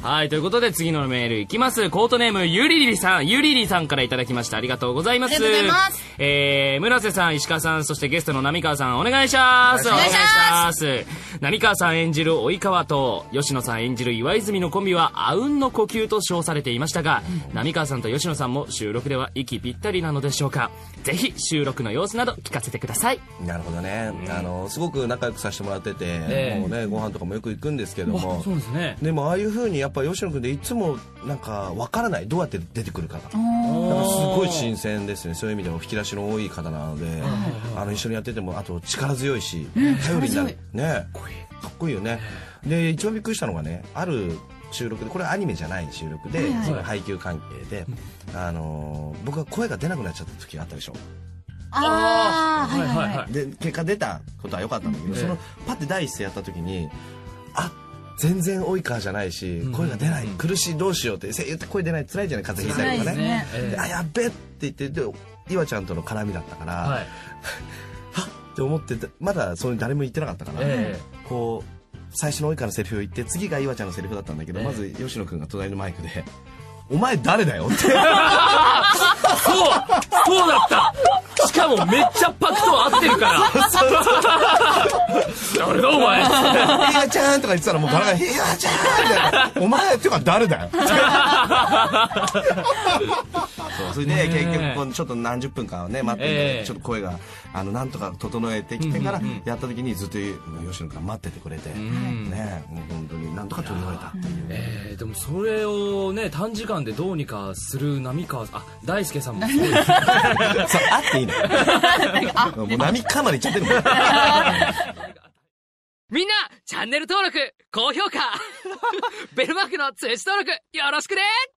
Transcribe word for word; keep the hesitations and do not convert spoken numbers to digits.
はい、ということで次のメールいきます。コートネームゆりりさん、ゆりりさんからいただきました。ありがとうございます。 ありがとうございます。 えー、村瀬さん、石川さん、そしてゲストの浪川さん、お願いします。 お願いします。 浪川さん演じる及川と吉野さん演じる岩泉のコンビはあうんの呼吸と称されていましたが、うん、浪川さんと吉野さんも収録では息ぴったりなのでしょうか。ぜひ収録の様子など聞かせてください。 なるほどね、うん、あのすごく仲良くさせてもらってて、えー、もうねご飯とかもよく行くんですけども、 そうですね。 でもああいう風にやっぱ吉野君でいつもなんかわからない、どうやって出てくるかがだからすごい新鮮ですね。そういう意味でも引き出しの多い方なので、あの一緒にやっててもあと力強いし、うん、頼りになるね、かっこいいよね。で一番びっくりしたのがね、ある収録で、これはアニメじゃない収録で、はいはい、その配給関係で、あのー、僕が声が出なくなっちゃった時があったでしょ。 ああ、はいはいはい。 で結果出たことは良かったんだけど、そのパッて第一声やった時に、あ、全然及川じゃないし、声が出ない、苦しい、どうしようって、声優って声出ない、辛いじゃない、風邪ひいたりとかね。で、あ、やっべって言って、で岩ちゃんとの絡みだったから、はい、はっって思ってまだそういう誰も言ってなかったから、えー、こう最初の及川のセリフを言って、次が岩ちゃんのセリフだったんだけど、えー、まず吉野君が隣のマイクで「お前誰だよ」ってそうそうだった。しかもめっちゃパクと合ってるから誰だお前 「岩ちゃん」とか言ってたらもうガラガラ「岩ちゃん」みたいな「お前っていうか誰だよ」そう、それで結局ちょっと何十分間ね待って、えー、ちょっと声があのなんとか整えてきてからやった時にずっと吉野君が待っててくれて、うん、ね、もう本当になんとか取り終えたっていう、 えー、でもそれをね短時間でどうにかする浪川、あ、大輔さんもすごいですそう、 あっていいのもう浪川までいっちゃってるもんみんなチャンネル登録高評価ベルマークの通知登録よろしくね。